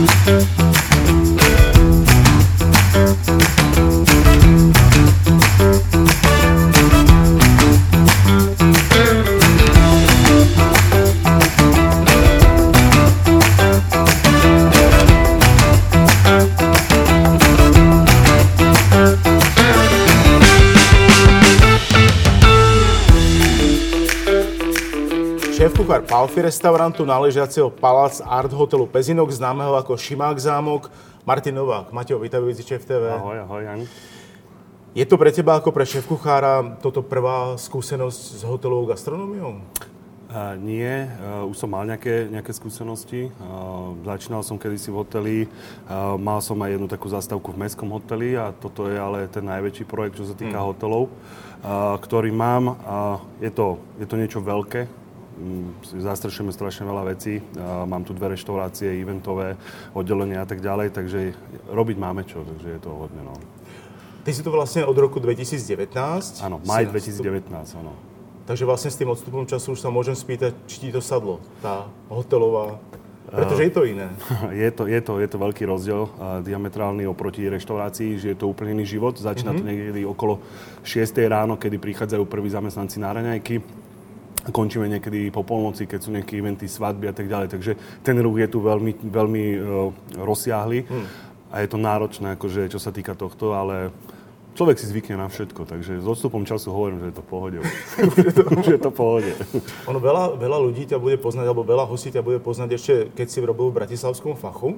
Šéf-kuchár Palfy restaurantu, náležiaceho Palác Art hotelu Pezinok, známeho ako Šimák zámok, Martin Novák. Maťo, vítajúci Šéf TV. Ahoj, Jan. Je to pre teba ako pre šéf-kuchára toto prvá skúsenosť s hotelovou gastronómiou? Nie, už som mal nejaké skúsenosti. Začínal som kedysi v hoteli, mal som aj jednu takú zastávku v mestskom hoteli a toto je ale ten najväčší projekt, čo sa týka hotelov, ktorý mám. Je to niečo veľké. Zastrešujeme strašne veľa vecí. Mám tu 2 reštaurácie, eventové oddelenie a tak ďalej, takže robiť máme čo, takže je to hodne, no. Ty si to vlastne od roku 2019? Áno, maj 2019, áno. Takže vlastne s tým odstupom času už sa môžem spýtať, či ti to sadlo, tá hotelová, pretože je to iné. Je to veľký rozdiel, diametrálny oproti reštaurácii, že je to úplne iný život. Začína to niekedy okolo 6 ráno, kedy prichádzajú prví zamestnanci na raňajky. Končíme niekedy po polnoci, keď sú nejaké eventy, svadby a tak ďalej. Takže ten ruch je tu veľmi rozsiahly a je to náročné, akože, čo sa týka tohto, ale človek si zvykne na všetko. Takže s odstupom času hovorím, že je to v pohode. Už je to v pohode. Ono veľa ľudí ťa bude poznať, alebo veľa hostí ťa bude poznať ešte, keď si robil v bratislavskom Fachu,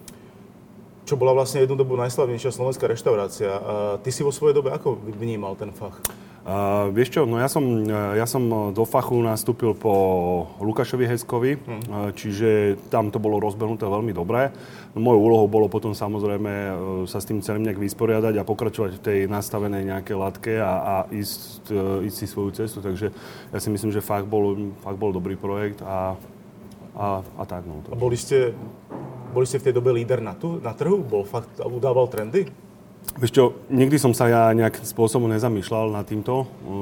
čo bola vlastne jednu dobu najslavnejšia slovenská reštaurácia. A ty si vo svojej dobe ako vnímal ten Fach? Vieš čo, no ja som do Fachu nastúpil po Lukášovi Heskovi, čiže tam to bolo rozbehnuté veľmi dobre. Mojou úlohou bolo potom samozrejme sa s tým celým nejak vysporiadať a pokračovať v tej nastavenej nejakej latke a ísť si svoju cestu. Takže ja si myslím, že Fach bol dobrý projekt a tak. No. A boli ste v tej dobe líder na trhu? Fakt udával trendy? Vieš čo, nikdy som sa ja nejakým spôsobom nezamýšľal nad týmto.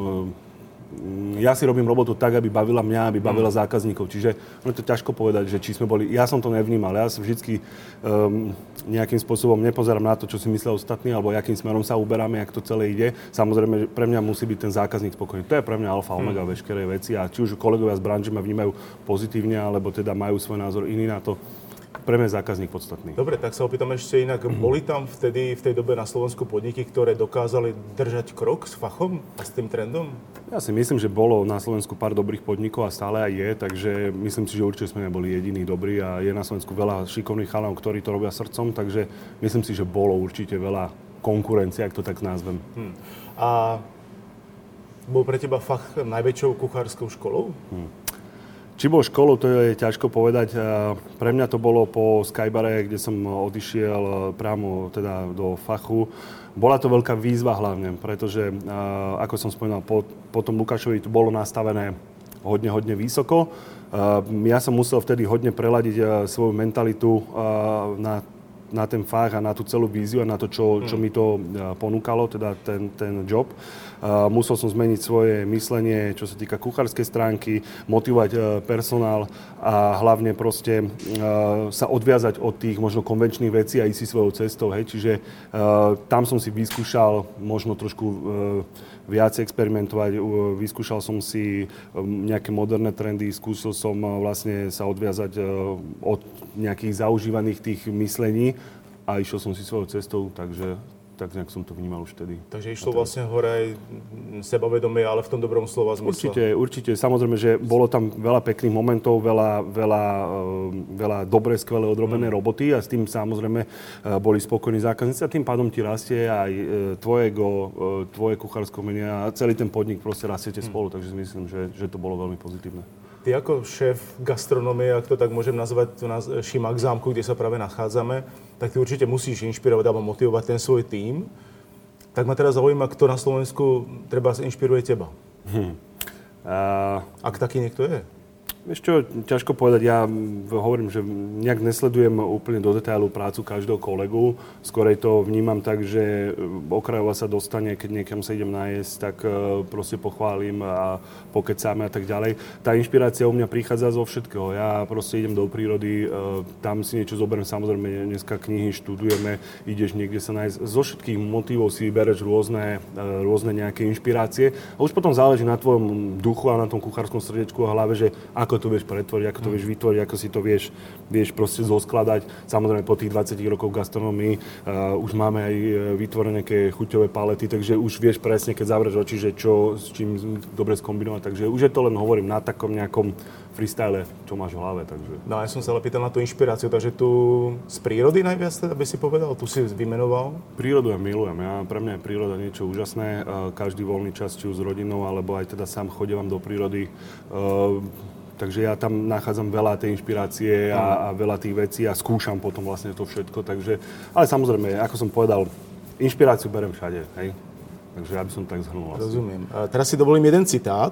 Ja si robím robotu tak, aby bavila mňa, aby bavila zákazníkov. Čiže je to ťažko povedať, že či sme boli... Ja som to nevnímal. Ja sa vždycky nejakým spôsobom nepozerám na to, čo si myslia ostatní, alebo akým smerom sa uberáme, jak to celé ide. Samozrejme, pre mňa musí byť ten zákazník spokojný. To je pre mňa alfa, omega veškeré veci. A či už kolegovia z branže ma vnímajú pozitívne, alebo teda majú svoj názor iný na to, pre mňa je zákazník podstatný. Dobre, tak sa opýtam ešte inak. Boli tam vtedy, v tej dobe na Slovensku podniky, ktoré dokázali držať krok s Fachom a s tým trendom? Ja si myslím, že bolo na Slovensku pár dobrých podnikov a stále aj je, takže myslím si, že určite sme neboli jediní dobrí a je na Slovensku veľa šikovných chalanov, ktorí to robia srdcom, takže myslím si, že bolo určite veľa konkurencie, ak to tak nazvem. A bol pre teba Fach najväčšou kuchárskou školou? Či bol školou, to je ťažko povedať. Pre mňa to bolo po Skybare, kde som odišiel priamo teda do Fachu. Bola to veľká výzva hlavne, pretože, ako som spomínal, po tom Lukášovi to bolo nastavené hodne vysoko. Ja som musel vtedy hodne preladiť svoju mentalitu na ten Fach a na tú celú víziu a na to, čo mi to ponúkalo, teda ten job. Musel som zmeniť svoje myslenie, čo sa týka kuchárskej stránky, motivovať personál a hlavne proste sa odviazať od tých možno konvenčných vecí a ísť si svojou cestou. Hej. Čiže tam som si vyskúšal možno trošku viac experimentovať, vyskúšal som si nejaké moderné trendy, skúsil som vlastne sa odviazať od nejakých zaužívaných tých myslení a išiel som si svojou cestou, takže tak nejak som to vnímal už vtedy. Takže išlo vlastne hore aj sebavedomie, ale v tom dobrom slova zmysle. Určite. Samozrejme, že bolo tam veľa pekných momentov, veľa dobre, skvelé odrobené roboty a s tým samozrejme boli spokojní zákazníci a tým pádom ti rastie aj tvoje ego, tvoje kuchárske umenie a celý ten podnik proste rastiete spolu, takže si myslím, že to bolo veľmi pozitívne. Ty ako šéf gastronómie, ak to tak môžem nazvať, tu na Šimák zámku, kde sa práve nachádzame, tak ty určite musíš inšpirovať alebo motivovať ten svoj tím. Tak ma teraz zaujíma, kto na Slovensku treba inšpiruje teba. Ak taký niekto je? Vieš čo, ťažko povedať. Ja hovorím, že nejak nesledujem úplne do detailu prácu každého kolegu. Skorej to vnímam tak, že okrajová sa dostane, keď niekam sa idem nájsť, tak proste pochválim a pokecáme a tak ďalej. Tá inšpirácia u mňa prichádza zo všetkého. Ja proste idem do prírody, tam si niečo zoberiem, samozrejme dneska knihy študujeme, ideš niekde sa nájsť. Zo všetkých motivov si vybereš rôzne nejaké inšpirácie a už potom záleží na tvojom duchu a na tom kuchárskom srdiečku a hlave, že ako to vieš pretvoriť, ako to vieš vytvoriť, ako si to vieš proste zoskladať. Samozrejme po tých 20 rokov v gastronomii už máme aj vytvorené nejaké chuťové palety, takže už vieš presne, keď zavrieš oči, že čo s čím dobre skombinovať. Takže už je to len, hovorím, na takom nejakom freestyle, čo máš v hlave. Takže. No ja som sa ale pýtal na tú inšpiráciu, takže tu z prírody najviac teda by si povedal, tu si vymenoval? Prírodu ja milujem. Pre mňa je príroda niečo úžasné. Každý voľný čas, či už s rodinou, alebo aj teda sám chodievam do prírody. Takže ja tam nachádzam veľa tej inšpirácie a veľa tých vecí a skúšam potom vlastne to všetko. Takže, ale samozrejme, ako som povedal, inšpiráciu berem všade. Hej? Takže ja by som tak zhrnul. Vlastne. Rozumiem. Teraz si dovolím jeden citát.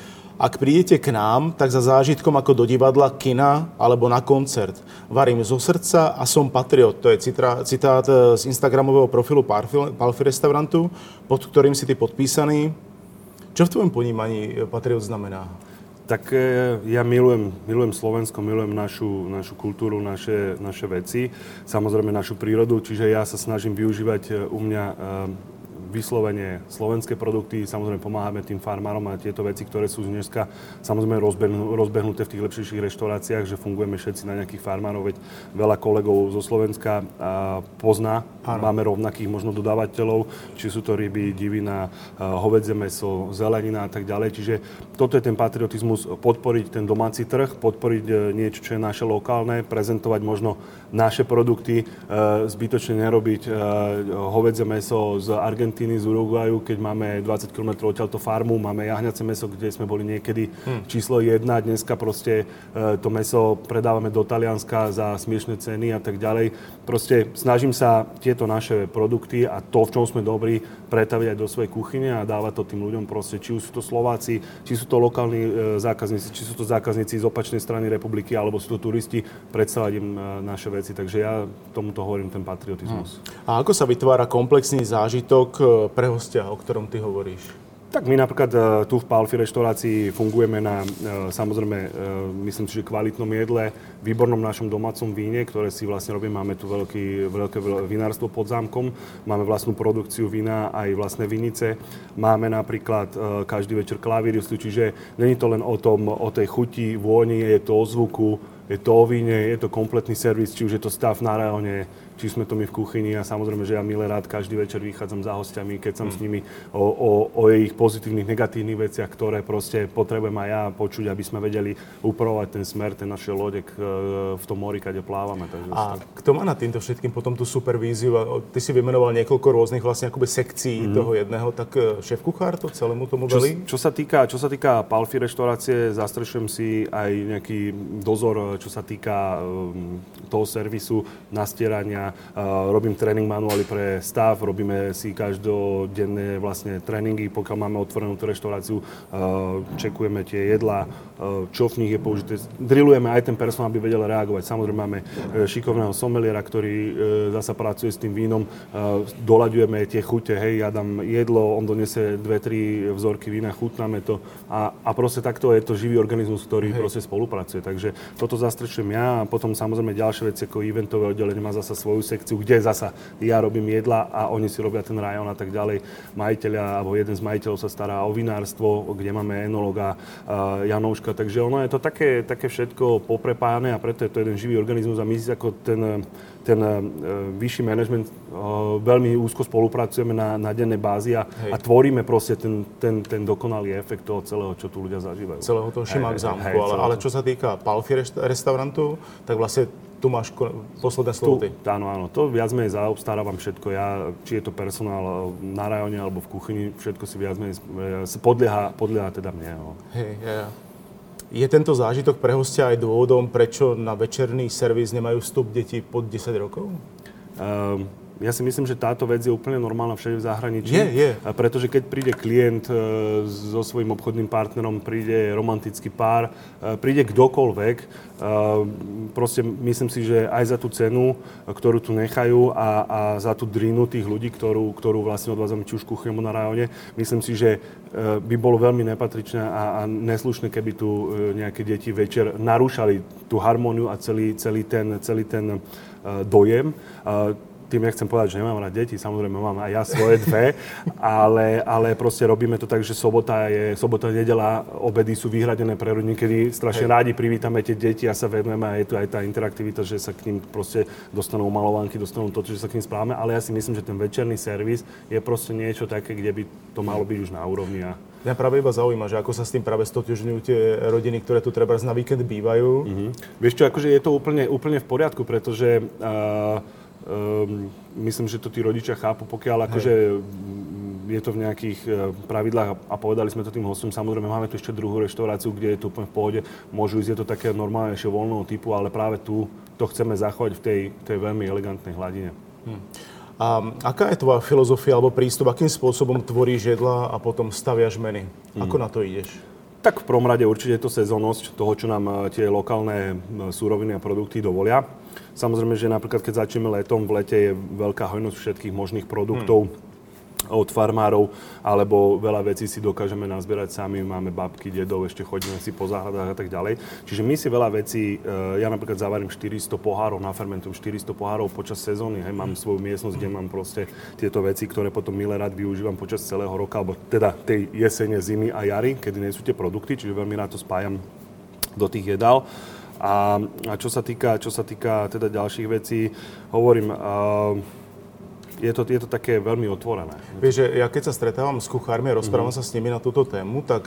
Ak prídete k nám, tak za zážitkom ako do divadla, kina alebo na koncert. Varím zo srdca a som patriot. To je citát z instagramového profilu Palfy restaurantu, pod ktorým si ty podpísaný. Čo v tvojom ponímaní patriot znamená? Tak ja milujem Slovensko, milujem našu kultúru, naše veci, samozrejme našu prírodu, čiže ja sa snažím využívať u mňa vyslovene slovenské produkty, samozrejme pomáhame tým farmárom a tieto veci, ktoré sú dneska samozrejme rozbehnuté v tých lepších reštauráciách, že fungujeme všetci na nejakých farmárov, veď veľa kolegov zo Slovenska pozná, máme rovnakých možno dodávateľov, či sú to ryby, divina, hovädzie mäso, zelenina a tak ďalej, čiže toto je ten patriotizmus, podporiť ten domáci trh, podporiť niečo, čo je naše lokálne, prezentovať možno naše produkty, zbytočne nerobiť hovädzie mäso z Argentíny, z Uruguaju, keď máme 20 km odtiaľto farmu, máme jahňace mäso, kde sme boli niekedy číslo 1, dneska proste to mäso predávame do Talianska za smiešné ceny a tak ďalej. Proste snažím sa tieto naše produkty a to, v čom sme dobrí, pretaviť aj do svojej kuchyne a dávať to tým ľuďom proste, či už sú to Slováci, či sú to lokálni zákazníci, či sú to zákazníci z opačnej strany republiky, alebo sú to turisti, predstavať im naše veci. Takže ja tomuto hovorím ten patriotizmus. A ako sa vytvára komplexný zážitok pre hostia, o ktorom ty hovoríš? Tak my napríklad tu v Palfy reštaurácii fungujeme na, samozrejme, myslím si, že kvalitnom jedle, výbornom našom domácom víne, ktoré si vlastne robíme. Máme tu veľké vinárstvo pod zámkom, máme vlastnú produkciu vína, aj vlastné vinice. Máme napríklad každý večer klavíristú, čiže není to len o tej chuti, vôni, je to o zvuku, je to o víne, je to kompletný servis, či už je to stav na rajóne, či sme to my v kuchyni a samozrejme, že ja milé rád každý večer vychádzam za hostiami, keď som s nimi o ich pozitívnych, negatívnych veciach, ktoré proste potrebujem aj ja počuť, aby sme vedeli upravovať ten smer, ten naše lode v tom mori, kde plávame. Takže a kto má nad týmto všetkým potom tú supervíziu? Ty si vymenoval niekoľko rôznych vlastne akoby sekcií toho jedného, tak šéf-kuchár to celému tomu velí? Čo sa týka Palfy reštaurácie, zastrešujem si aj nejaký dozor, čo sa týka toho servisu, nastierania. Robím tréning manuály pre stav, robíme si každodenné vlastne tréningy, pokiaľ máme otvorenú tú reštauráciu, čekujeme tie jedlá, čo v nich je použité. Drillujeme aj ten personál, aby vedel reagovať. Samozrejme máme šikovného someliera, ktorý zasa pracuje s tým vínom, doľaďujeme tie chute, hej, ja dám jedlo, on donese 2-3 vzorky vína, chutnáme to a proste takto je to živý organizmus, ktorý proste spolupracuje. Takže toto zastrešujem ja a potom samozrejme ďalšie veci ako eventové oddelenie má zasa svoju sekciu, kde zasa ja robím jedla a oni si robia ten rajón a tak ďalej. Majiteľia, alebo jeden z majiteľov sa stará o vinárstvo, kde máme enologa Janouška, takže ono je to také všetko poprepájane a preto je to jeden živý organizmus a my si ako ten vyšší manažment veľmi úzko spolupracujeme na dennej bázi a tvoríme proste ten dokonalý efekt toho celého, čo tu ľudia zažívajú. Celého toho Šimák zámku, ale čo sa týka Palfy restaurantu, tak vlastne tu máš posledné slovo ty. Áno, to viac menej zaobstarávam všetko. Ja, či je to personál na rajóne alebo v kuchyni, všetko si viac menej podlieha teda mne. No. Je tento zážitok pre hostia aj dôvodom, prečo na večerný servis nemajú vstup deti pod 10 rokov? Ja si myslím, že táto vec je úplne normálna všade v zahraničí. Je. Pretože keď príde klient so svojím obchodným partnerom, príde romantický pár, príde kdokoľvek, proste myslím si, že aj za tú cenu, ktorú tu nechajú a za tú drinu tých ľudí, ktorú vlastne odvádzame či už kuchyňou na rajóne, myslím si, že by bolo veľmi nepatričné a neslušné, keby tu nejaké deti večer narúšali tú harmóniu a celý ten dojem. Tým nechcem povedať, že nemám rád deti, samozrejme mám aj ja svoje dve, ale proste robíme to tak, že sobota, nedeľa, obedy sú vyhradené pre rodiny, kedy strašne rádi privítame tie deti a sa venujeme a je tu aj tá interaktivita, že sa k ním proste dostanú malovánky, dostanú to, že sa k ním správame, ale ja si myslím, že ten večerný servis je proste niečo také, kde by to malo byť už na úrovni. Mňa práve iba zaujíma, že ako sa s tým práve stotožňujú tie rodiny, ktoré tu trebárs na víkend bývajú. Vieš čo, akože je to úplne v poriadku, pretože myslím, že to tí rodičia chápu, pokiaľ akože je to v nejakých pravidlách a povedali sme to tým hostom, samozrejme máme tu ešte druhú reštauráciu, kde je to úplne v pohode, môžu ísť, je to také normálnejšie voľného typu, ale práve tu to chceme zachovať v tej veľmi elegantnej hladine. A aká je tvoja filozofia alebo prístup, akým spôsobom tvoríš jedla a potom staviaš menu? Ako na to ideš? Tak v prvom rade určite je to sezónnosť toho, čo nám tie lokálne súroviny a produkty dovolia. Samozrejme, že napríklad keď začneme letom, v lete je veľká hojnosť všetkých možných produktov od farmárov, alebo veľa vecí si dokážeme nazbierať sami. Máme babky, dedov, ešte chodíme si po záhradách a tak ďalej. Čiže my si veľa vecí, ja napríklad zavarím 400 pohárov, nafermentujem 400 pohárov počas sezóny. Hej, mám svoju miestnosť, kde mám proste tieto veci, ktoré potom milé rád využívam počas celého roka, alebo teda tej jesene, zimy a jary, kedy nie sú tie produkty, čiže veľmi rád to spájam do tých jedál. A čo sa týka teda ďalších vecí, hovorím, je to také veľmi otvorené. Vieš, že ja keď sa stretávam s kuchármi a rozprávam sa s nimi na túto tému, tak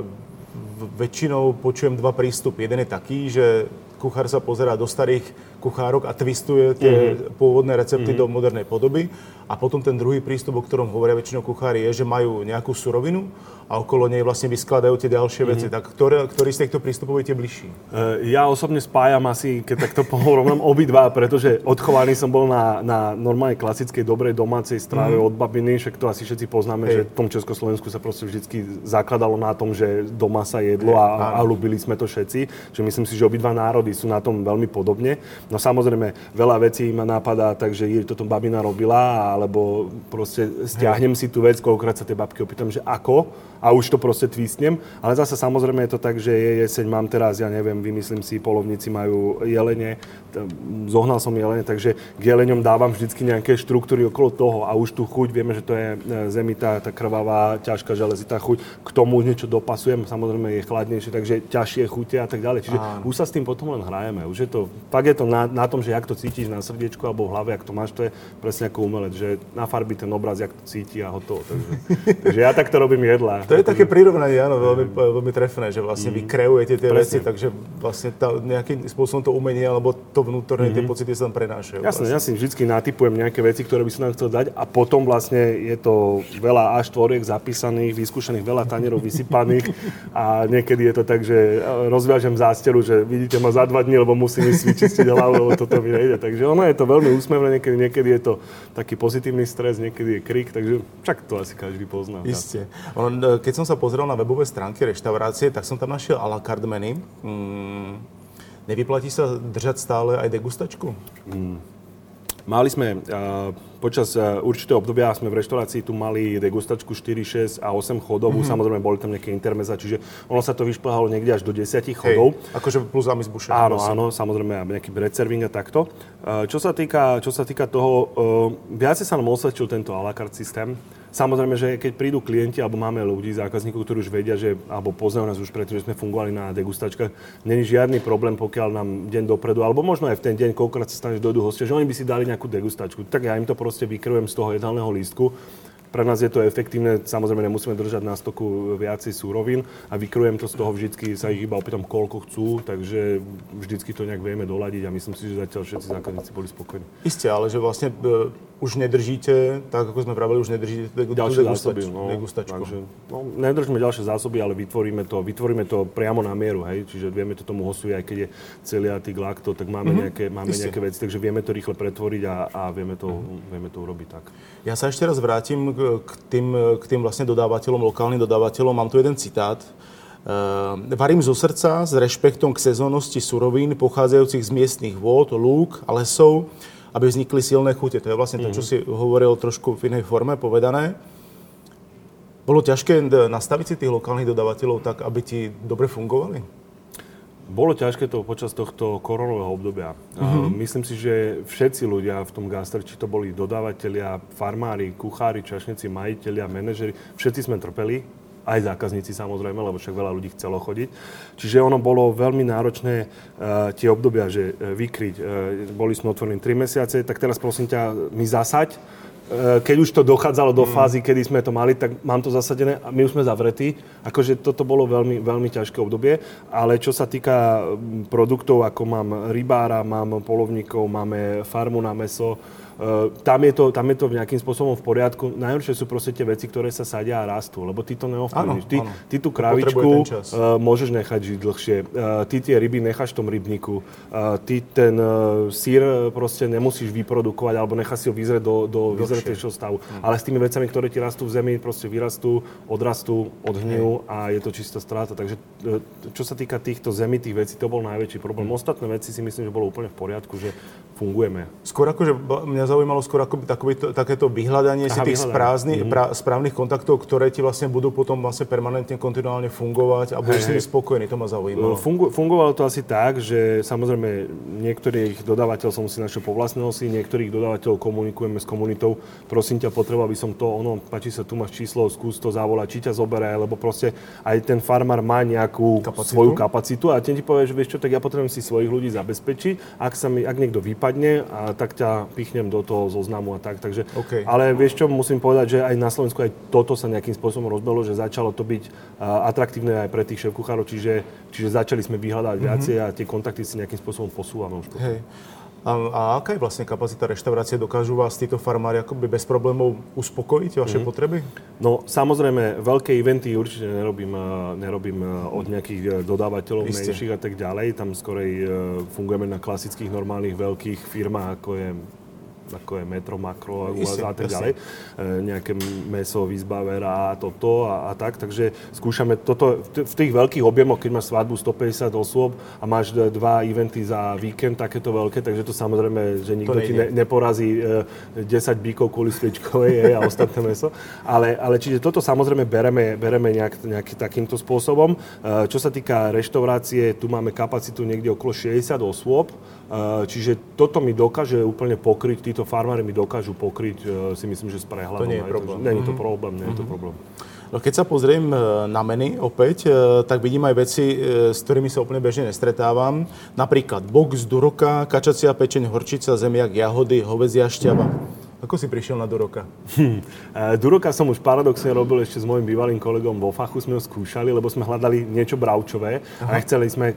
väčšinou počujem dva prístupy. Jeden je taký, že kuchár sa pozerá do starých kuchárok a twistuje tie pôvodné recepty do modernej podoby. A potom ten druhý prístup, o ktorom hovoria väčšinou kuchári, je, že majú nejakú surovinu a okolo nej vlastne vyskladajú tie ďalšie veci. Tak ktorý z týchto prístupov je tie bližší? Ja osobne spájam asi, keď takto porovnám, obidva, pretože odchovaný som bol na normálnej klasickej dobrej domácej strave od babiny, však to asi všetci poznáme, že v tom Československu sa proste vždycky zakladalo na tom, že doma sa jedlo a ľúbili sme to všetci. Čiže myslím si, že obidva národy sú na tom veľmi podobne. No samozrejme, veľa vecí ma napadá, takže toto babina robila, alebo proste stiahnem si tú vec, koľkokrát sa tie babky opýtam, že ako, a už to proste twistnem. Ale zase samozrejme je to tak, že je jeseň, mám teraz, ja neviem, vymyslím si, polovníci majú jelene, zohnal som jelene, takže k jeleňom dávam vždycky nejaké štruktúry okolo toho a už tú chuť, vieme, že to je zemitá, tá krvavá, ťažká železitá chuť, k tomu už niečo dopasujem, samozrejme je chladnejšie, takže ťažšie chute a tak ďalej. Čiže už sa s tým potom len hrajeme. Už je to, fakt je to na tom, že jak to cítiš na srdiečku alebo v hlave, jak to máš, to je presne ako umelec, že nafarbí ten obraz, jak to cíti a hotovo. Takže ja takto robím jedlá. To je také prirovnanie, áno, veľmi trefné, že vlastne vy kreujete tie veci, takže vlastne nejakým spôsobom to umenie alebo to vnútorné, tie pocity sa tam prenášajú. Jasne, ja si vždycky natypujem nejaké veci, ktoré by som nám chcel dať a potom vlastne je to veľa A4 zapísaných, vyskúšaných, veľa tanierov vysypaných a niekedy je to tak, že rozviažem zásteru, že vidíte ma za 2 dní, lebo musím ísť vyčistiť hlavu, lebo toto mi nejde. Takže ono je to veľmi úsmevné, niekedy je to taký pozitívny stres, niekedy je krik, takže však to asi každý pozná. Isté. Keď som sa pozrel na webové stránky reštaurácie, tak som tam našiel à la carte menu. Nevyplatí sa držať stále aj degustačku? Mali sme, počas určitého obdobia sme v reštaurácii tu mali degustačku 4, 6 a 8 chodovú. Samozrejme, boli tam nejaké intermeza, čiže ono sa to vyšplhalo niekde až do 10 chodov. Akože plus amis buše. Áno, samozrejme, nejaký predserving a takto. Čo sa týka toho, viacej sa nám osvedčil tento à la carte systém. Samozrejme, že keď prídu klienti, alebo máme ľudí, zákazníkov, ktorí už vedia, že, alebo poznajú nás už preto, že sme fungovali na degustačkách, není žiadny problém, pokiaľ nám deň dopredu, alebo možno aj v ten deň, koľkokrát sa stane, že dojdú hostia, že oni by si dali nejakú degustačku. Tak ja im to proste vykryjem z toho jedálneho lístku. Pre nás je to efektívne, samozrejme nemusíme držať na stoku viacej súrovín a vykrujem to z toho vždycky, sa ich iba opýtam, koľko chcú, takže vždycky to nejak vieme doladiť a myslím si, že zatiaľ všetci zákazníci boli spokojní. Isté, ale že vlastne už nedržíte, tak ako sme pravili, už nedržíte ďalšie zásoby, degustačku. Takže, nedržíme ďalšie zásoby, ale vytvoríme to priamo na mieru, hej, čiže vieme to tomu hostovi, aj keď je celiatik, lakto, tak máme nejaké veci, takže vieme to rýchle pretvoriť a vieme to urobiť tak. Ja sa ešte raz vrátim k tým vlastne dodávateľom, lokálnym dodávateľom. Mám tu jeden citát. Varím zo srdca s rešpektom k sezónnosti surovín pochádzajúcich z miestnych vôd, lúk a lesov, aby vznikli silné chute. To je vlastne to, čo si hovoril trošku v inej forme povedané. Bolo ťažké nastaviť si tých lokálnych dodávateľov tak, aby ti dobre fungovali? Bolo ťažké to počas tohto koronového obdobia. Myslím si, že všetci ľudia v tom gastre, či to boli dodávateľia, farmári, kuchári, čašníci, majitelia, manažeri, všetci sme trpeli, aj zákazníci samozrejme, lebo však veľa ľudí chcelo chodiť. Čiže ono bolo veľmi náročné tie obdobia, že vykryť. Boli sme otvorení 3 mesiace, tak teraz prosím ťa, mi zasaď. Keď už to dochádzalo do fázy, kedy sme to mali, tak mám to zasadené a my už sme zavretí. Akože toto bolo veľmi, veľmi ťažké obdobie, ale čo sa týka produktov, ako mám rybára, mám polovníkov, máme farmu na mäso, tam je to nejakým spôsobom v poriadku. Najhoršie sú proste tie veci, ktoré sa sadia a rastú, lebo ty to neovplyvníš. Ty tú kravičku môžeš nechať žiť dlhšie. Ty tie ryby necháš v tom rybníku. Ty ten sír proste nemusíš vyprodukovať alebo necháš si ho vyzrieť do vyzretejšieho stavu. Ale s tými vecami, ktoré ti rastú v zemi, proste vyrastú, odrastú, odhnijú a je to čistá strata. Takže čo sa týka týchto zemitých vecí, to bol najväčší problém. Ostatné veci si myslím, že bolo úplne v poriadku, že fungujeme. Skôr akože mňa zaujímalo takéto vyhľadanie si tých správnych kontaktov, ktoré ti vlastne budú potom vlastne permanentne, kontinuálne fungovať a budeš si spokojný, to ma zaujímalo. Fungovalo to asi tak, že samozrejme niektorých dodávateľov som si našiel po vlastnej osi, niektorých dodávateľov komunikujeme s komunitou. Prosím ťa, potreboval by som to, páči sa, tu máš číslo, skús to zavolať, či ťa zoberie, lebo proste aj ten farmár má nejakú svoju kapacitu a ten ti povie, že vieš čo, tak ja potrebujem si svojich ľudí zabezpečiť, ak niekto vypadne, tak ťa pichnem do toho zoznamu a tak. Takže, ale vieš čo, musím povedať, že aj na Slovensku aj toto sa nejakým spôsobom rozbehlo, že začalo to byť atraktívne aj pre tých šéfkuchárov, čiže začali sme vyhľadať viacej a tie kontakty si nejakým spôsobom posúvame už. Hej. A aká je vlastne kapacita reštaurácie? Dokážu vás títo farmári akoby bez problémov uspokojiť vaše potreby? No samozrejme, veľké eventy určite nerobím od nejakých dodávateľov menších a tak ďalej. Tam skorej fungujeme na klasických, normálnych, veľkých firmách, ako je Metro, Makro a tak ďalej. Nejaké mäso, výzbaver a toto a tak. Takže skúšame toto v tých veľkých objemoch, keď máš svadbu 150 osôb a máš 2 eventy za víkend, takéto veľké, takže to samozrejme, že nikto ti neporazí 10 bíkov kvôli sviečkovej a ostatné mäso. Ale čiže toto samozrejme bereme nejaký takýmto spôsobom. Čo sa týka reštaurácie, tu máme kapacitu niekde okolo 60 osôb, čiže toto mi dokáže úplne pokryť, títo farmári mi dokážu pokryť, si myslím, že s prehľadom. To nie je problém. Nie je to problém, nie je to problém. No keď sa pozriem na menu opäť, tak vidím aj veci, s ktorými sa úplne bežne nestretávam. Napríklad box, duroka, kačacia pečeň, horčica, zemiak, jahody, hovädzia šťava. Ako si prišiel na duroka? Duroka som už paradoxne robil ešte s môjim bývalým kolegom vo fachu, sme ho skúšali, lebo sme hľadali niečo bravčové a chceli sme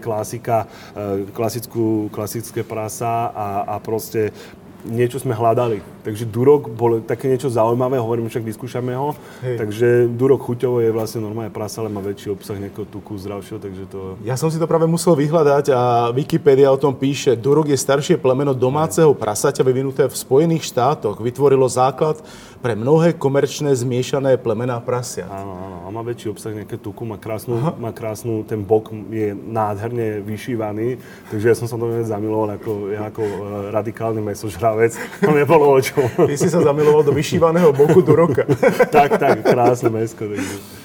klasické prasa a proste niečo sme hľadali. Takže durok bol také niečo zaujímavé, hovorím, však vyskúšame ho. Hej. Takže durok chuťovo je vlastne normálne prasa, ale má väčší obsah nejakého tuku zdravšieho, takže to... Ja som si to práve musel vyhľadať a Wikipédia o tom píše. Durok je staršie plemeno domáceho prasaťa vyvinuté v Spojených štátoch. Vytvorilo základ pre mnohé komerčné zmiešané plemená prasiat. Áno, a má väčší obsah nejaké tuku, má krásnu, ten bok je nádherne vyšívaný, takže ja som sa do neho zamiloval ako radikálny mäsožravec. To nebolo o čom. Ty si sa zamiloval do vyšívaného boku duroka. tak, krásne mäsko.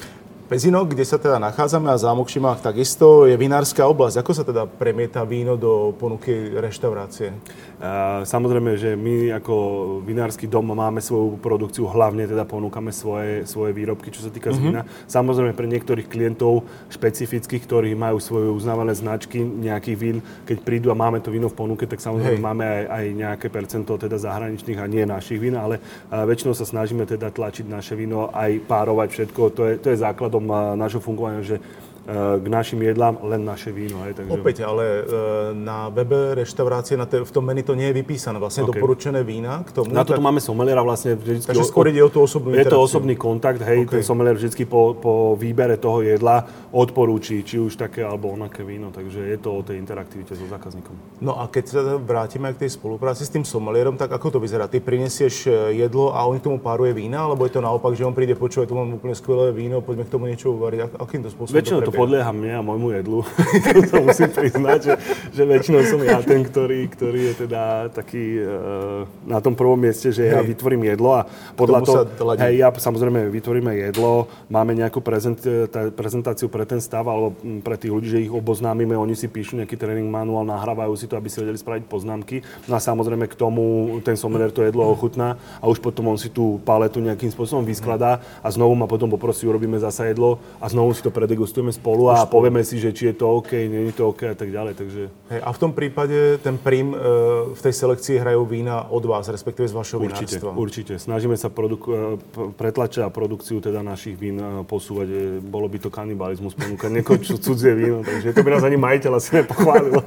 Pezinok, kde sa teda nachádzame a Zámok Šimák takisto, je vinárska oblasť. Ako sa teda premieta víno do ponuky reštaurácie? Samozrejme, že my ako vinársky dom máme svoju produkciu, hlavne teda ponúkame svoje výrobky, čo sa týka z vína. Samozrejme pre niektorých klientov špecifických, ktorí majú svoje uznávané značky nejakých vín, keď prídu a máme to víno v ponuke, tak samozrejme máme aj nejaké percento teda zahraničných a nie našich vín, ale väčšinou sa snažíme teda tlačiť naše víno, aj párovať všetko. To je základom nášho fungovania, že k našim jedlám len naše víno. Takže... Opäť, ale na webe reštaurácie, v tom menu to nie je vypísané. Vlastne doporučené vína k tomu. Na to máme someliera vlastne vždycky. Takže skôr ide o tú osobnú interakciu. Je to osobný kontakt, ten somelier vždycky po výbere toho jedla odporúči, či už také alebo onaké víno. Takže je to o tej interaktivite so zákazníkom. No a keď sa vrátime k tej spolupráci s tým somelierom, tak ako to vyzerá? Ty prinesieš jedlo a on k tomu páruje vína, alebo je to naopak, že on príde, počúvaj, tu mám úplne skvelé víno, poďme k tomu niečo uvariť. Akým to spôsobom podlieha mne a môjmu jedlu. To musím priznať, že väčšinou som ja ten, ktorý je teda taký na tom prvom mieste, že ja vytvorím jedlo a podľa toho, ja samozrejme vytvoríme jedlo, máme nejakú prezentáciu pre ten stav alebo pre tých ľudí, že ich oboznámime, oni si píšu nejaký tréning manuál, nahrávajú si to, aby si vedeli spraviť poznámky. No a samozrejme k tomu ten somelier to jedlo ochutná a už potom on si tú paletu nejakým spôsobom vyskladá a znovu ma potom poprosí, urobíme zasa jedlo a znovu si to predegustujeme spolu a povieme si, že či je to OK, nie je to OK a tak ďalej. Takže... A v tom prípade ten prím v tej selekcii hrajú vína od vás, respektíve z vašho vinárstva. Určite. Snažíme sa pretlačať a produkciu teda našich vín posúvať. Bolo by to kanibalizmus ponúkať niekoho cudzie víno, takže to by nás ani majiteľ asi nepochválil.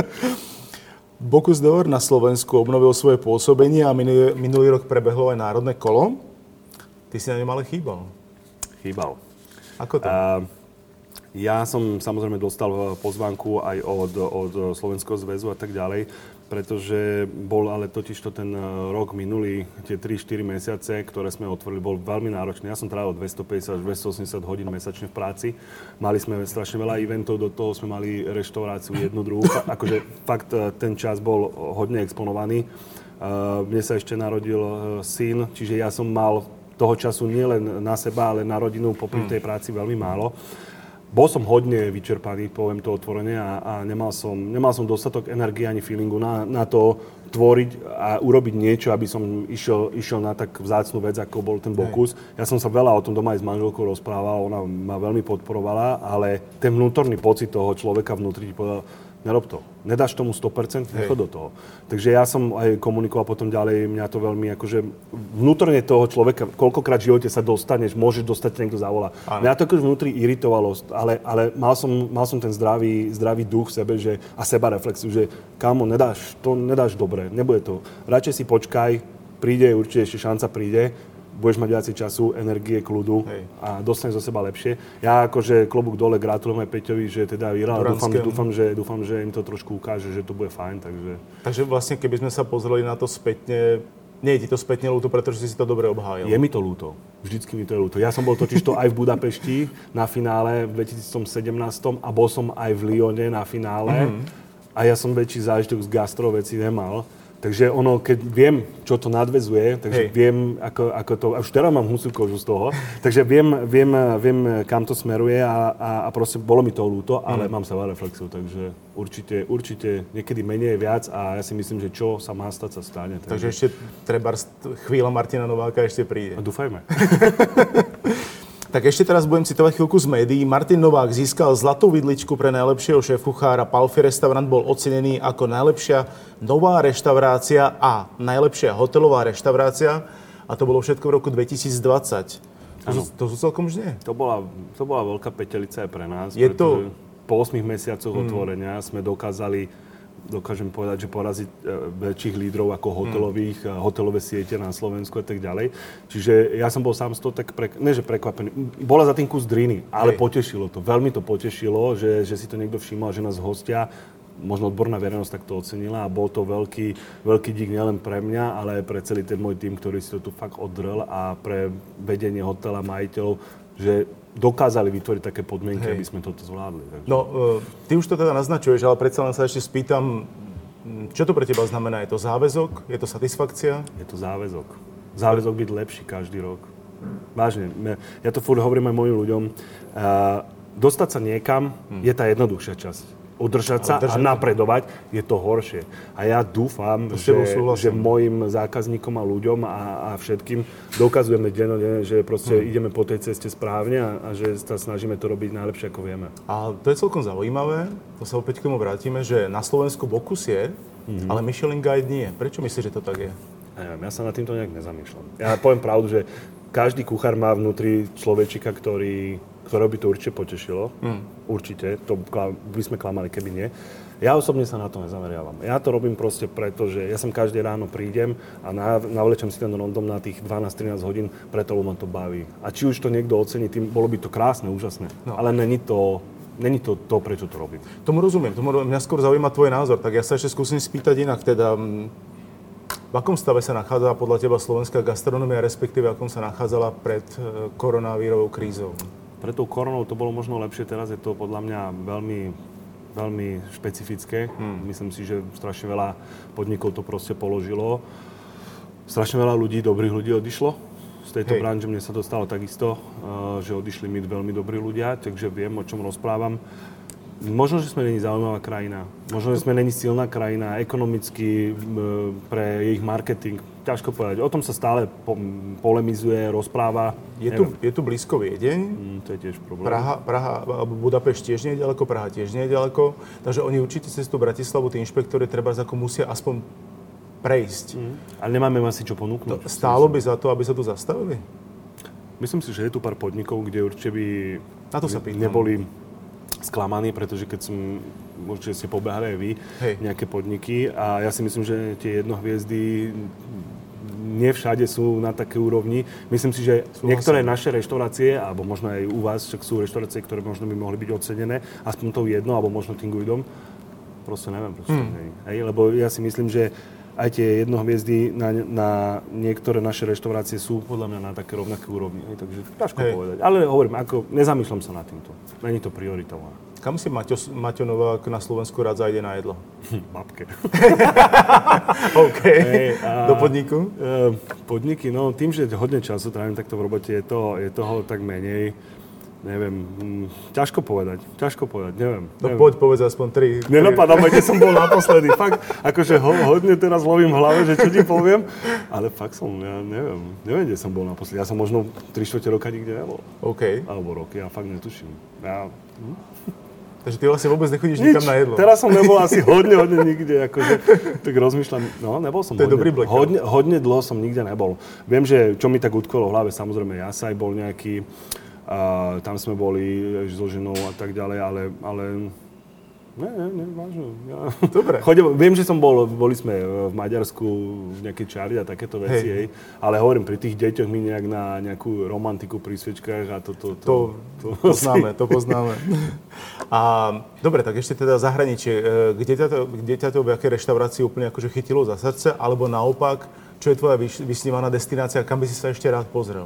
Bocuse d'Or na Slovensku obnovil svoje pôsobenie a minulý rok prebehlo aj národné kolo. Ty si na ňom ale chýbal. Chýbal. Ako to? Ja som samozrejme dostal pozvánku aj od Slovenského zväzu a tak ďalej, pretože bol ale totižto ten rok minulý, tie 3-4 mesiace, ktoré sme otvorili, bol veľmi náročný. Ja som trávil 250 až 280 hodín mesačne v práci. Mali sme strašne veľa eventov, do toho sme mali reštauráciu jednu, druhú. Akože fakt ten čas bol hodne exponovaný. Mne sa ešte narodil syn, čiže ja som mal toho času nielen na seba, ale na rodinu popri tej práci veľmi málo. Bol som hodne vyčerpaný, poviem to otvorene, a nemal som dostatok energie ani feelingu na to tvoriť a urobiť niečo, aby som išiel na tak vzácnu vec, ako bol ten Bocuse. Ja som sa veľa o tom doma aj s manželkou rozprával, ona ma veľmi podporovala, ale ten vnútorný pocit toho človeka vnútri ti povedal, nerob to. Nedáš tomu 100%, nechod do toho. Takže ja som aj komunikoval potom ďalej, mňa to veľmi akože vnútorne toho človeka, koľkokrát v živote sa dostaneš, môžeš dostať, niekto zavolá. Mňa to akože vnútri iritovalo, ale mal som ten zdravý duch v sebe, že, a sebareflexiu, že kámo, nedáš dobre, nebude to. Radšej si počkaj, príde, určite ešte šanca príde, budeš mať viacej času, energie, kľudu a dostaneš zo seba lepšie. Ja akože klobúk dole gratulujem aj Peťovi, že teda vyhral. Dúfam, že im to trošku ukáže, že to bude fajn. Takže vlastne, keby sme sa pozreli na to spätne, nie je ti to spätne ľúto, pretože si to dobre obhájil? Je mi to ľúto. Vždycky mi to je ľúto. Ja som bol totižto aj v Budapešti na finále v 2017 a bol som aj v Lyone na finále. A ja som väčší zážitok z gastro veci nemal. Takže keď viem, čo to nadväzuje, takže viem, ako to... Už teraz mám husú kožu z toho, takže viem, kam to smeruje a proste bolo mi to ľúto, ale mám sebareflexiu, takže určite niekedy menej je viac a ja si myslím, že čo sa má stať, sa stane. Takže ešte treba chvíľa Martina Nováka ešte príde. A dúfajme. Tak ešte teraz budem citovať chvíľku z médií. Martin Novák získal zlatú vidličku pre najlepšieho šéfkuchára. Palfi restaurant bol ocenený ako najlepšia nová reštaurácia a najlepšia hotelová reštaurácia. A to bolo všetko v roku 2020. To sú celkom žne. To bola veľká petelica aj pre nás. Pretože po 8 mesiacoch otvorenia sme dokážem povedať, že poraziť väčších lídrov ako hotelové siete na Slovensku a tak ďalej. Čiže ja som bol sám z toho tak prekvapený. Bola za tým kus driny, ale potešilo to. Veľmi to potešilo, že si to niekto všimol, že nás hostia, možno odborná verejnosť tak to ocenila a bol to veľký dík nielen pre mňa, ale aj pre celý ten môj tím, ktorý si to tu fakt oddrel a pre vedenie hotela, majiteľov, že dokázali vytvoriť také podmienky, aby sme toto zvládli. Takže. No, ty už to teda naznačuješ, ale predsa len sa ešte spýtam, čo to pre teba znamená? Je to záväzok? Je to satisfakcia? Je to záväzok. Záväzok byť lepší každý rok. Vážne. Ja to furt hovorím aj mojim ľuďom. Dostať sa niekam je tá jednoduchšia časť. Udržať sa a napredovať je to horšie. A ja dúfam, že mojim zákazníkom a ľuďom a všetkým dokazujeme dennodenne, že proste ideme po tej ceste správne a že sa snažíme to robiť najlepšie, ako vieme. A to je celkom zaujímavé, to sa opäť k tomu vrátime, že na Slovensku Bocuse je, ale Michelin Guide nie. Prečo myslíš, že to tak je? Ja sa nad týmto nejak nezamýšľam. Ja poviem pravdu, že každý kuchár má vnútri človečika, ktorého by to určite potešilo. Určite. To by sme klamali, keby nie. Ja osobne sa na to nezameriavam. Ja to robím proste preto, že ja sem každé ráno prídem a navlečem si ten rondom na tých 12-13 hodín, preto ma to baví. A či už to niekto ocení, tým bolo by to krásne, úžasné. No. Ale není to, prečo to robím. Tomu rozumiem. Mňa skôr zaujíma tvoj názor. Tak ja sa ešte skúsim spýtať inak. Teda, v akom stave sa nachádza podľa teba slovenská gastronomia, respektíve akom sa nachádzala pred koronavírovou krízou? Pre tou koronou to bolo možno lepšie, teraz je to podľa mňa veľmi, veľmi špecifické. Myslím si, že strašne veľa podnikov to proste položilo. Strašne veľa ľudí, dobrých ľudí odišlo z tejto branže. Mne sa to stalo takisto, že odišli mi veľmi dobrí ľudia, takže viem, o čom rozprávam. Možno, že sme není zaujímavá krajina. Možno, že sme není silná krajina ekonomicky pre ich marketing. Ťažko povedať. O tom sa stále polemizuje, rozpráva. Je tu blízko Viedeň. To je tiež problém. Praha alebo Budapešť tiež nie je ďaleko, Praha tiež nie je ďaleko. Takže oni určite cez tú Bratislavu, tí inšpektori treba musia aspoň prejsť. Ale nemáme asi čo ponúknuť. Stálo by za to, aby sa tu zastavili? Myslím si, že je tu pár podnikov, kde určite by na to sa pýtam. Neboli sklamaní, pretože keď som, určite ste pobehali aj vy, nejaké podniky a ja si myslím, že tie jednohviezdy nie všade sú na také úrovni. Myslím si, že niektoré naše reštaurácie, alebo možno aj u vás, však sú reštaurácie, ktoré možno by mohli byť ocenené, aspoň tou jednou, alebo možno tým guidom. Proste neviem, lebo ja si myslím, že aj tie jednohviezdy na niektoré naše reštaurácie sú podľa mňa na také rovnaké úrovni. Takže ťažko povedať. Ale hovorím, nezamýšľam sa nad týmto. Není to prioritou. Kam si Maťo Novák na Slovensku rád zajde na jedlo? Babke. OK. Do podniku? Podniky, no tým, že hodne času trávim takto v robote, je toho tak menej. Neviem, ťažko povedať, neviem. No poď, povedz aspoň 3. Nenapadá ma, kde som bol naposledy. Fakt, akože hodne teraz lovím v hlave, že čo ti poviem, ale fakt ja neviem, kde som bol naposledy. Ja som možno 3/4 roka nikde nebol. OK. Alebo roky, ja fakt netuším. Takže ty vlastne vôbec nechodíš nikam na jedlo. Teraz som nebol asi hodne nikde, akože tak rozmýšľam, nebol som hodne dlho som nikde nebol. Viem, že čo mi tak utkolo v hlave, samozrejme Jasaj bol nejaký, tam sme boli so ženou a tak ďalej, ale nie, vážne. Ja. Dobre. Viem, že boli sme v Maďarsku v nejakej čári a takéto veci, ale hovorím, pri tých deťoch mi nejak na nejakú romantiku pri sviečkách a to poznáme. A dobre, tak ešte teda zahraničie. Kde ťa to v jakej reštaurácii úplne akože chytilo za srdce, alebo naopak, čo je tvoja vysnívaná destinácia, kam by si sa ešte rád pozrel?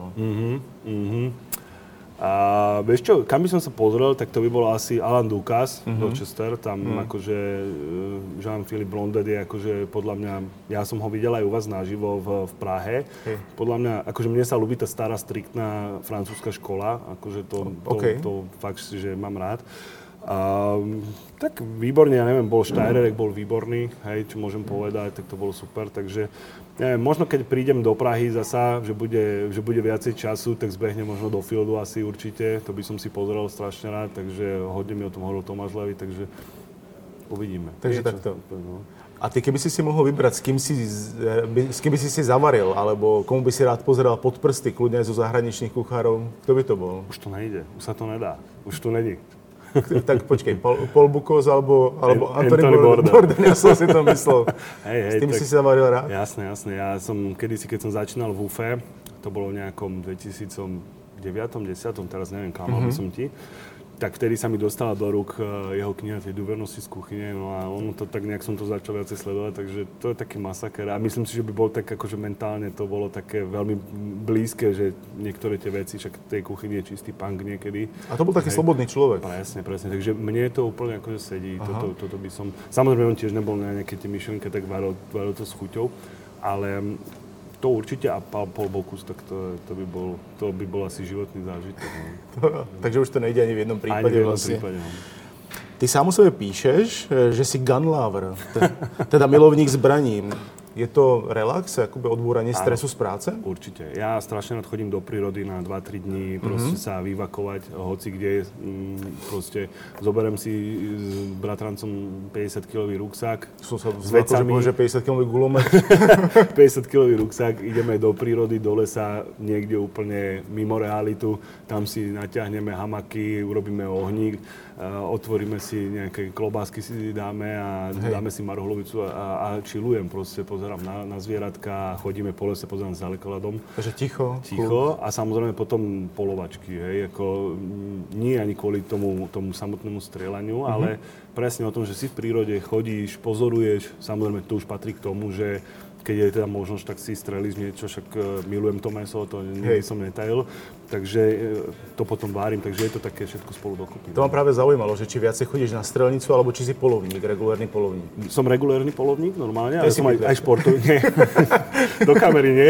A vieš čo, kam by som sa pozrel, tak to by bol asi Alain Ducasse, Rochester, tam akože Jean-Philippe Blondet je akože podľa mňa, ja som ho videl aj u vás naživo v Prahe. Podľa mňa, akože mne sa ľúbi tá stará, striktná francúzska škola, akože to fakt, že mám rád. Tak výborne, ja neviem, bol Steyrer, bol výborný, čo môžem povedať, tak to bolo super, takže neviem, možno keď prídem do Prahy zasa, že bude viacej času, tak zbehnem možno do Fieldu asi určite, to by som si pozrel strašne rád, takže hodne mi o tom hovoril Tomáš Levy, takže uvidíme. Takže takto. A ty keby si mohol vybrať, s kým by si zavaril, alebo komu by si rád pozeral pod prsty, kľudne aj zo zahraničných kuchárov, kto by to bol? Už to nejde, už sa to nedá, už to není. Tak počkej, Paul Bocuse alebo Anthony Bourdain, ja som si to myslel. S tým si zavaril rád? Jasné. Ja som kedysi, keď som začínal v UFE, to bolo v nejakom 2009, 10, teraz neviem, klamal by som ti, tak vtedy sa mi dostala do rúk jeho kniha Tie dôvernosti z kuchyne, no a ono to tak nejak som to začal viacej sledovať, takže to je taký masaker a myslím si, že by bol tak akože mentálne to bolo také veľmi blízke, že niektoré tie veci, však tej kuchyni je čistý punk niekedy. A to bol taký slobodný človek. Presne, takže mne to úplne akože sedí, toto by som, samozrejme on tiež nebol na nejaké tie myšlenky, tak varil to s chuťou, ale To určite a Paul Bocuse, tak to by bol asi životný zážitok. No. Takže už to nejde ani v jednom prípade. Ani v jednom prípade, no. Ty sám o sebe píšeš, že si gun lover, teda milovník zbraní. Je to relax, akoby odbúranie stresu z práce? Určite. Ja strašne rád chodím do prírody na 2-3 dní, proste sa vyvakovať, hoci kde, proste zoberiem si s bratrancom 50-kilový ruksak. Som sa zvlakol, že 50-kilový gulomet. 50-kilový ruksak, ideme do prírody, do lesa, niekde úplne mimo realitu, tam si natiahneme hamaky, urobíme ohník, otvoríme si nejaké klobásky, si dáme a dáme si marhulovicu a chillujem proste, pozerám na zvieratka, chodíme po lese, pozerám za lekladom. Takže ticho. A samozrejme potom polovačky, hej, ako nie ani kvôli tomu samotnému strieľaniu, ale presne o tom, že si v prírode chodíš, pozoruješ, samozrejme to už patrí k tomu, že keď je teda možnosť, tak si strelíš niečo, však milujem to mäso, to nikdy som netajil, takže to potom várim, takže je to také všetko spolu dokopy. To ma práve zaujímalo, že či viacej chodíš na strelnicu, alebo či si polovník, regulérny polovník. Som regulérny polovník, normálne, ale som aj športový, nie, do kamery nie,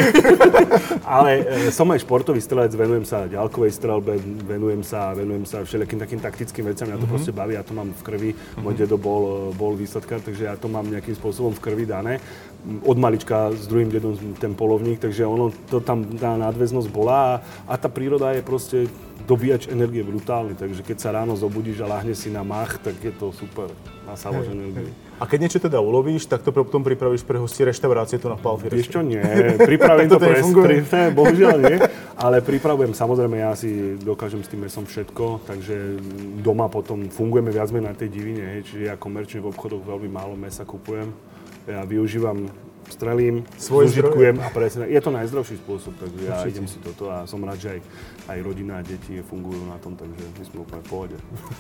ale som aj športový strelec, venujem sa ďalkovej strelbe, venujem sa všelijakým takým taktickým veciam, ja to proste baví, ja to mám v krvi, môj dedo bol výsadkár, takže ja to mám nejakým spôsobom v krvi dané. Od malička s druhým dedom ten polovník, takže ono to tam tá nadväznosť bola a tá príroda je proste dobíjač energie brutálny, takže keď sa ráno zobudíš a láhne si na mach, tak je to super, nasávaš energiu. A keď niečo teda ulovíš, tak to potom pripravíš pre hostie reštaurácie tu na Palfy? Vieš čo, nie, pripravím to bohužiaľ nie, ale pripravujem, samozrejme ja si dokážem s tým mesom všetko, takže doma potom fungujeme viac menej na tej divine, čiže ja komerčne v obchodoch veľmi málo mesa kupujem. Ja využívam, strelím, zužitkujem a presne. Je to najzdravší spôsob, takže ja idem si toto a som rád, že aj rodina a deti fungujú na tom, takže my sme úplne v pohode.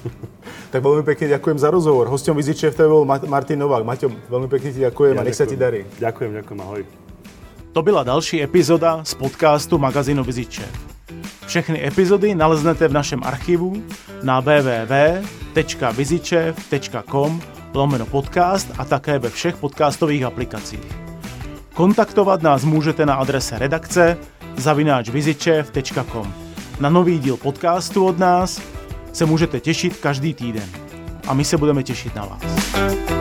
Tak veľmi pekne ďakujem za rozhovor. Hosťom Vizičev bol Martin Novák. Maťo, veľmi pekne ti ďakujem a nech sa ti darí. Ďakujem, ahoj. To byla další epizoda z podcastu magazínu Vizičev. Všechny epizody naleznete v našem archivu na www.vizičev.com/podcast a také ve všech podcastových aplikacích. Kontaktovat nás můžete na adrese redakce @vizičev.com. Na nový díl podcastu od nás se můžete těšit každý týden. A my se budeme těšit na vás.